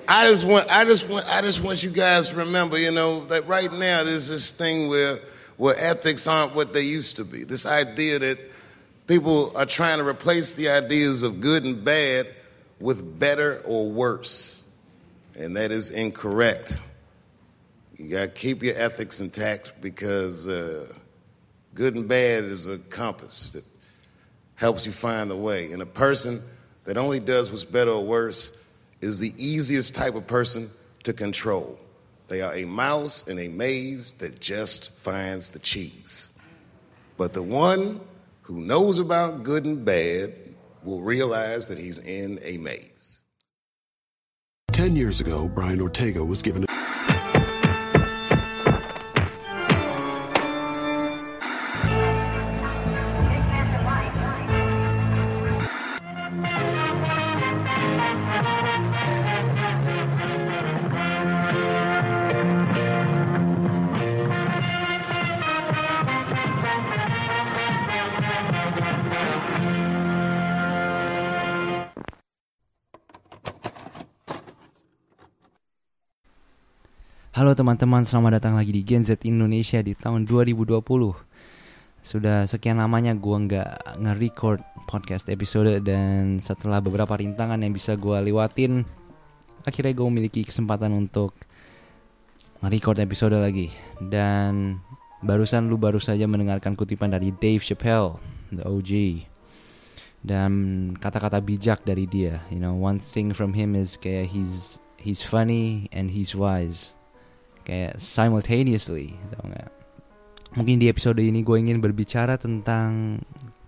I just want you guys to remember, that right now there's this thing where ethics aren't what they used to be. This idea that people are trying to replace the ideas of good and bad with better or worse, and that is incorrect. You got to keep your ethics intact because good and bad is a compass that helps you find the way. And a person that only does what's better or worse is the easiest type of person to control. They are a mouse in a maze that just finds the cheese. But the one who knows about good and bad will realize that he's in a maze. 10 years ago, Brian Ortega was given Halo teman-teman, selamat datang lagi di Gen Z Indonesia di tahun 2020. Sudah sekian lamanya gue nggak nge-record podcast episode, dan setelah beberapa rintangan yang bisa gue lewatin, akhirnya gue memiliki kesempatan untuk nge-record episode lagi. Dan baru saja mendengarkan kutipan dari Dave Chappelle, the OG, dan kata-kata bijak dari dia. One thing from him is kayak he's funny and he's wise. Kayak simultaneously, tau gak? Mungkin di episode ini gue ingin berbicara tentang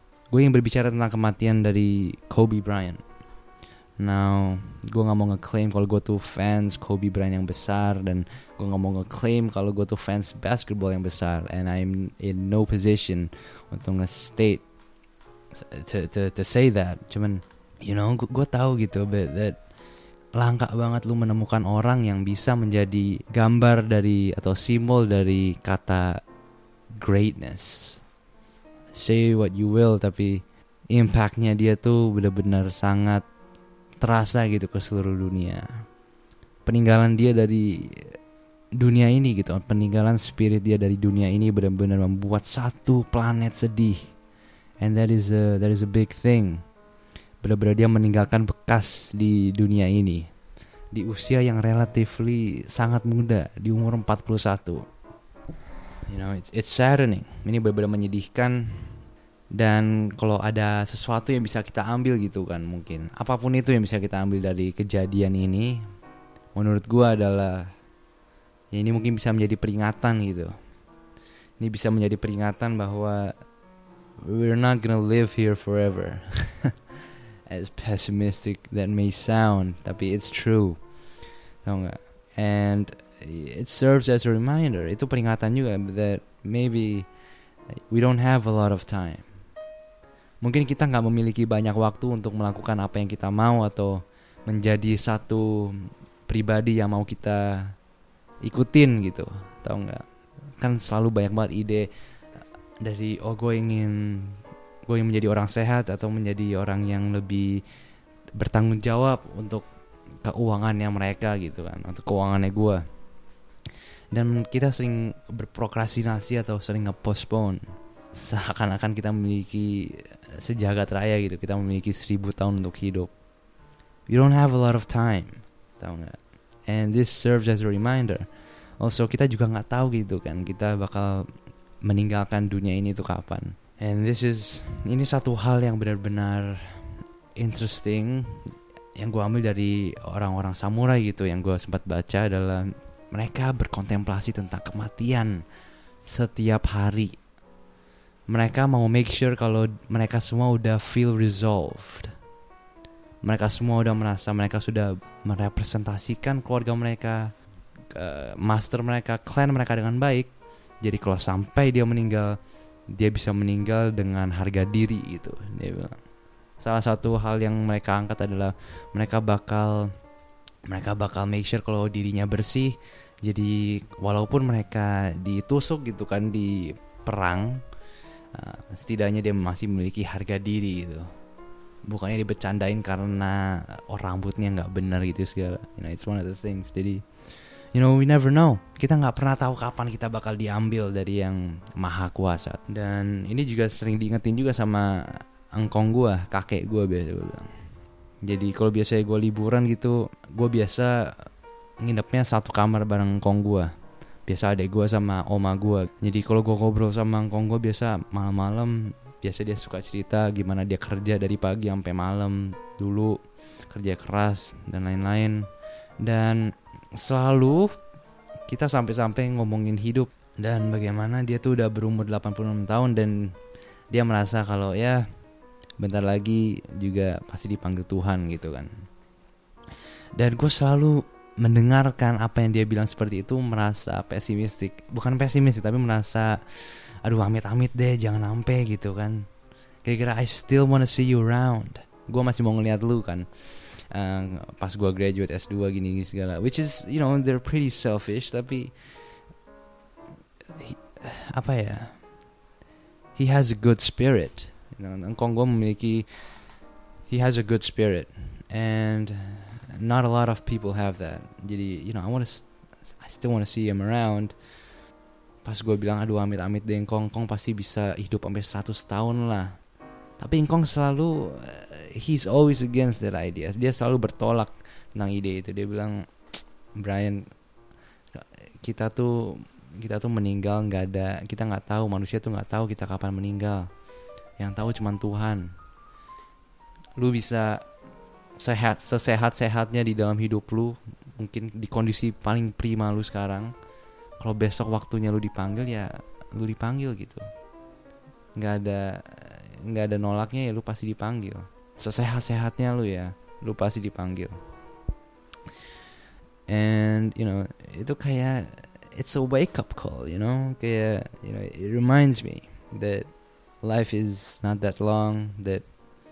kematian dari Kobe Bryant. Now, gue gak mau ngeklaim kalau gue tuh fans Kobe Bryant yang besar, dan gue gak mau ngeklaim kalau gue tuh fans basketball yang besar. And I'm in no position untuk nge-state to say that. Cuman, gue tahu gitu, but that langka banget lu menemukan orang yang bisa menjadi gambar dari atau simbol dari kata greatness. Say what you will, tapi impactnya dia tuh benar-benar sangat terasa gitu ke seluruh dunia. Peninggalan dia dari dunia ini gitu, peninggalan spirit dia dari dunia ini benar-benar membuat satu planet sedih. And that is a big thing. Benar-benar dia meninggalkan bekas di dunia ini di usia yang relatively sangat muda, di umur 41. It's saddening. Ini benar-benar menyedihkan. Dan kalau ada sesuatu yang bisa kita ambil gitu kan, mungkin apapun itu yang bisa kita ambil dari kejadian ini, menurut gua adalah ini mungkin bisa menjadi peringatan gitu. Ini bisa menjadi peringatan bahwa we're not gonna live here forever. As pessimistic that may sound, tapi it's true, tau gak? And it serves as a reminder. Itu peringatan juga that maybe we don't have a lot of time. Mungkin kita gak memiliki banyak waktu untuk melakukan apa yang kita mau atau menjadi satu pribadi yang mau kita ikutin gitu, tau gak? Kan selalu banyak banget ide dari gue ingin menjadi orang sehat atau menjadi orang yang lebih bertanggung jawab untuk keuangannya mereka gitu kan, untuk keuangannya gue. Dan kita sering berprokrastinasi atau sering nge-postpone, seakan-akan kita memiliki sejagat raya gitu, kita memiliki 1000 tahun untuk hidup. You don't have a lot of time, tahu nggak? And this serves as a reminder. Also kita juga nggak tahu gitu kan, kita bakal meninggalkan dunia ini tuh kapan. And ini satu hal yang benar-benar interesting yang gue ambil dari orang-orang samurai gitu, yang gue sempat baca adalah mereka berkontemplasi tentang kematian setiap hari. Mereka mau make sure kalau mereka semua udah feel resolved. Mereka semua udah merasa mereka sudah merepresentasikan keluarga mereka, master mereka, clan mereka dengan baik. Jadi kalau sampai dia meninggal, dia bisa meninggal dengan harga diri gitu, dia bilang. Salah satu hal yang mereka angkat adalah mereka bakal make sure kalau dirinya bersih. Jadi walaupun mereka ditusuk gitu kan di perang, setidaknya dia masih memiliki harga diri gitu. bukannya dibercandain karena rambutnya nggak benar gitu segala. It's one of the things. Jadi we never know. Kita nggak pernah tahu kapan kita bakal diambil dari yang maha kuasa. Dan ini juga sering diingetin juga sama engkong gue, kakek gue biasa gue bilang. Jadi kalau biasanya gue liburan gitu, gue biasa nginepnya satu kamar bareng engkong gue. Biasa adek gue sama oma gue. Jadi kalau gue ngobrol sama engkong gue biasa malam-malam, biasa dia suka cerita gimana dia kerja dari pagi sampai malam dulu, kerja keras dan lain-lain. Dan selalu kita sampai-sampai ngomongin hidup dan bagaimana dia tuh udah berumur 86 tahun dan dia merasa kalau ya bentar lagi juga pasti dipanggil Tuhan gitu kan. Dan gue selalu mendengarkan apa yang dia bilang seperti itu merasa pesimistik. Bukan pesimistik tapi merasa aduh amit-amit deh jangan sampai gitu kan. Kira-kira I still wanna see you around. Gue masih mau ngeliat lu kan. Pas gue graduate S2 gini segala. Which is they're pretty selfish. Tapi he has a good spirit. Engkong gue memiliki, he has a good spirit. And not a lot of people have that. Jadi I still wanna see him around. Pas gue bilang aduh amit-amit deh Engkong pasti bisa hidup sampai 100 tahun lah. Tapi Engkong selalu he's always against that idea. Dia selalu bertolak tentang ide itu. Dia bilang Brian, kita tuh meninggal kita nggak tahu, manusia tuh nggak tahu kita kapan meninggal. Yang tahu cuma Tuhan. Lu bisa sesehat-sehatnya di dalam hidup lu, mungkin di kondisi paling prima lu sekarang. Kalau besok waktunya lu dipanggil ya lu dipanggil gitu. Nggak ada nolaknya ya lu pasti dipanggil. Sesehat-sehatnya lu ya lu pasti dipanggil. And itu kayak it's a wake up call, kayak it reminds me that life is not that long, that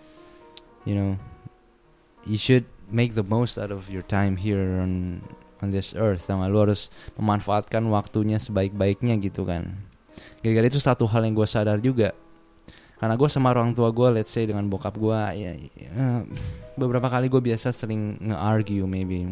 you should make the most out of your time here on this earth. Sama lu harus memanfaatkan waktunya sebaik-baiknya gitu kan. Gara-gara itu satu hal yang gue sadar juga. Karena gue sama orang tua gue, let's say dengan bokap gue, beberapa kali gue biasa sering nge-argue,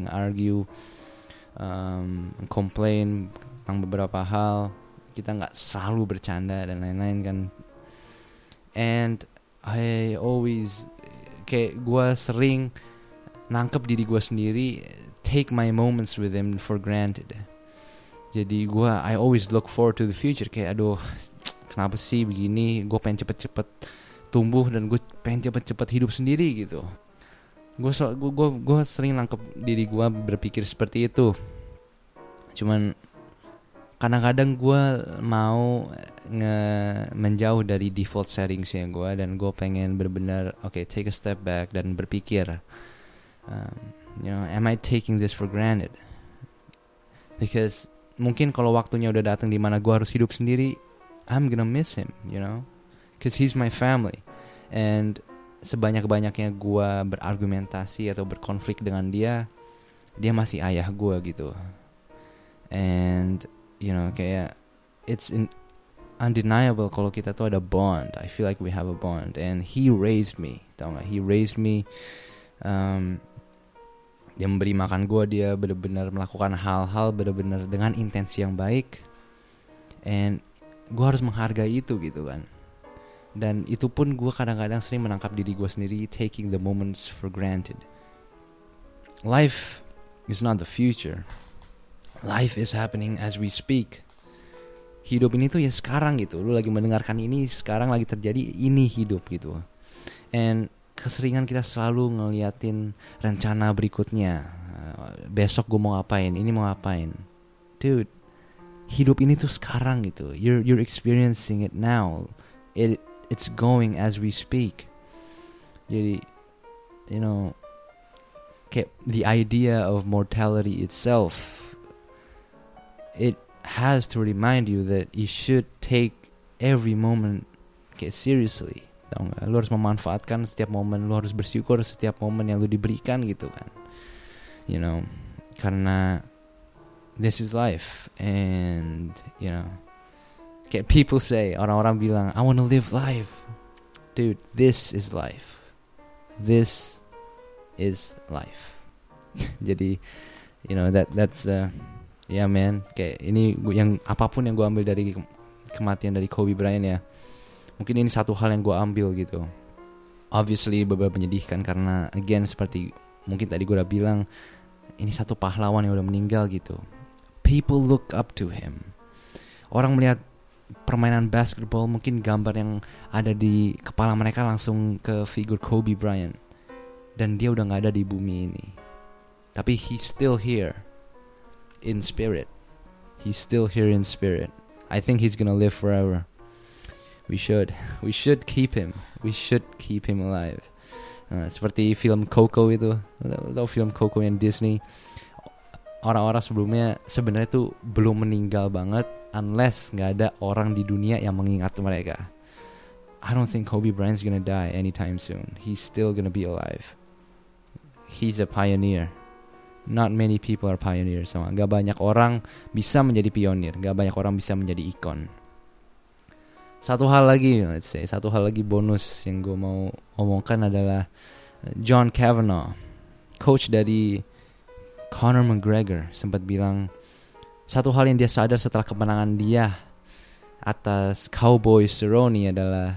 complain tentang beberapa hal. Kita nggak selalu bercanda dan lain-lain kan. And I always kayak gue sering nangkep diri gue sendiri, take my moments with him for granted. Jadi I always look forward to the future. Kayak aduh, kenapa sih begini? Gue pengen cepet-cepet tumbuh dan gue pengen cepet-cepet hidup sendiri gitu. Gue sering nangkep diri gue berpikir seperti itu. Cuman kadang-kadang gue mau menjauh dari default settingsnya gue dan gue pengen benar-benar take a step back dan berpikir, am I taking this for granted? Because mungkin kalau waktunya udah datang di mana gue harus hidup sendiri, I'm gonna miss him, because he's my family. And sebanyak-banyaknya gue berargumentasi atau berkonflik dengan dia masih ayah gue gitu. And kayak it's undeniable kalau kita tuh ada bond. I feel like we have a bond. And he raised me, tau gak? He raised me. Dia memberi makan gue, dia benar-benar melakukan hal-hal benar-benar dengan intensi yang baik. And gue harus menghargai itu gitu kan. Dan itu pun gue kadang-kadang sering menangkap diri gue sendiri taking the moments for granted. Life is not the future. Life is happening as we speak. Hidup ini tuh ya sekarang gitu. Lu lagi mendengarkan ini, sekarang lagi terjadi, ini hidup gitu. And keseringan kita selalu ngeliatin rencana berikutnya. Besok gue mau ngapain, ini mau ngapain. Dude, hidup ini tuh sekarang gitu. You're experiencing it now. It's going as we speak. Jadi, kayak the idea of mortality itself, it has to remind you that you should take every moment seriously. Tahu nggak? Lu harus memanfaatkan setiap momen, lu harus bersyukur setiap momen yang lu diberikan gitu kan. Karena this is life. And kayak people say, orang-orang bilang I want to live life. Dude, this is life. this is life. Jadi that's yeah man, kayak ini yang apapun yang gue ambil dari kematian dari Kobe Bryant ya, mungkin ini satu hal yang gue ambil gitu. Obviously beberapa menyedihkan karena again seperti mungkin tadi gue udah bilang, ini satu pahlawan yang udah meninggal gitu. People look up to him. Orang melihat permainan basketball, mungkin gambar yang ada di kepala mereka langsung ke figur Kobe Bryant. Dan dia udah gak ada di bumi ini, tapi he's still here in spirit. He's still here in spirit. I think he's gonna live forever. We should keep him. We should keep him alive. Seperti film Coco itu, tahu film Coco yang Disney. Orang-orang sebelumnya sebenarnya tuh belum meninggal banget, unless nggak ada orang di dunia yang mengingat mereka. I don't think Kobe Bryant's gonna die anytime soon. He's still gonna be alive. He's a pioneer. Not many people are pioneers. Gak banyak orang bisa menjadi pionir. Gak banyak orang bisa menjadi ikon. Satu hal lagi bonus yang gue mau omongkan adalah John Kavanagh, coach dari Conor McGregor, sempat bilang satu hal yang dia sadar setelah kemenangan dia atas Cowboy Cerrone adalah,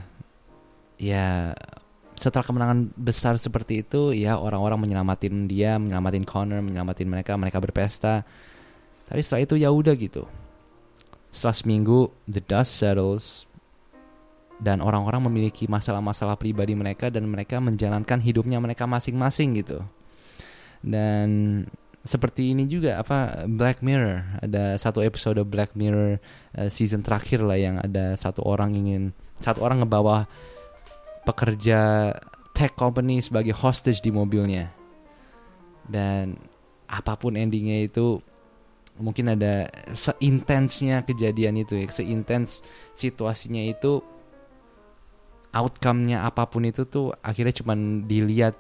ya setelah kemenangan besar seperti itu, ya orang-orang menyelamatin dia, menyelamatin Conor, menyelamatin mereka berpesta. Tapi setelah itu ya udah gitu. Setelah seminggu the dust settles dan orang-orang memiliki masalah-masalah pribadi mereka dan mereka menjalankan hidupnya mereka masing-masing gitu. Dan seperti ini juga Black Mirror, ada satu episode Black Mirror season terakhir lah, yang ada satu orang ngebawa pekerja tech company sebagai hostage di mobilnya. Dan apapun endingnya itu, mungkin ada seintensnya kejadian itu ya, seintens situasinya itu, outcome-nya apapun itu tuh akhirnya cuman dilihat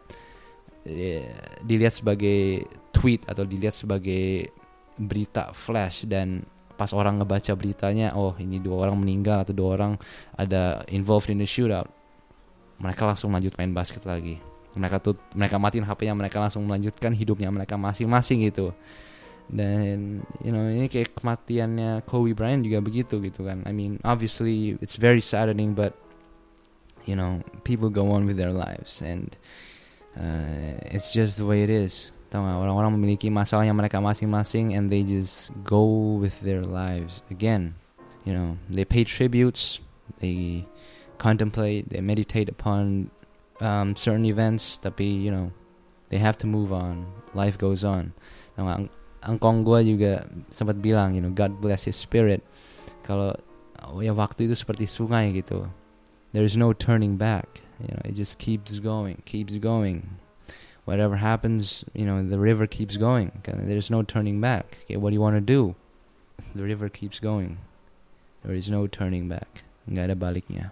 sebagai tweet atau dilihat sebagai berita flash, dan pas orang ngebaca beritanya, oh ini 2 orang meninggal atau 2 orang ada involved in the shootout, mereka langsung lanjut main basket lagi. Mereka matiin HP-nya, mereka langsung melanjutkan hidupnya mereka masing-masing gitu. Dan ini kayak kematiannya Kobe Bryant juga begitu gitu kan. I mean obviously it's very saddening, but people go on with their lives and it's just the way it is. Tahu gak, orang-orang memiliki masalahnya mereka masing-masing and they just go with their lives again. They pay tributes, they contemplate, they meditate upon certain events, tapi they have to move on. Life goes on. Angkong gue juga sempat bilang, God bless his spirit. Kalau ya waktu itu seperti sungai gitu. There is no turning back. It just keeps going. Whatever happens, the river keeps going. There's no turning back. Okay, what do you want to do? The river keeps going. There is no turning back. Nggak ada baliknya.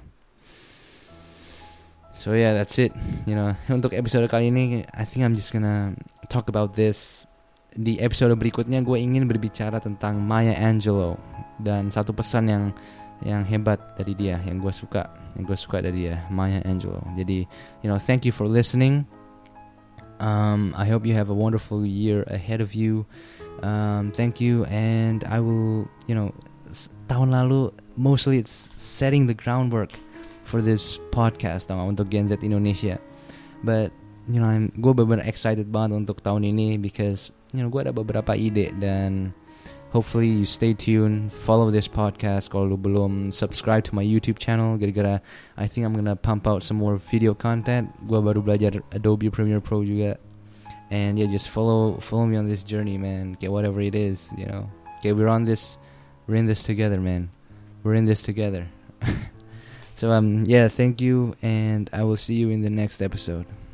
So yeah, that's it. Untuk episode kali ini, I think I'm just gonna talk about this. Di episode berikutnya gue ingin berbicara tentang Maya Angelou dan satu pesan yang hebat dari dia, yang gue suka dari dia, Maya Angelou. Jadi, thank you for listening. I hope you have a wonderful year ahead of you. Thank you, and I will, tahun lalu mostly it's setting the groundwork for this podcast untuk Gen Z Indonesia. But gue benar-benar excited banget untuk tahun ini because gue ada beberapa ide, dan hopefully you stay tuned, follow this podcast. Kalau lu belum subscribe to my YouTube channel, gara-gara I think I'm gonna pump out some more video content. Gue baru belajar Adobe Premiere Pro juga, and yeah, just follow me on this journey, man. Okay, whatever it is, okay, we're in this together, man. We're in this together. So yeah, thank you, and I will see you in the next episode.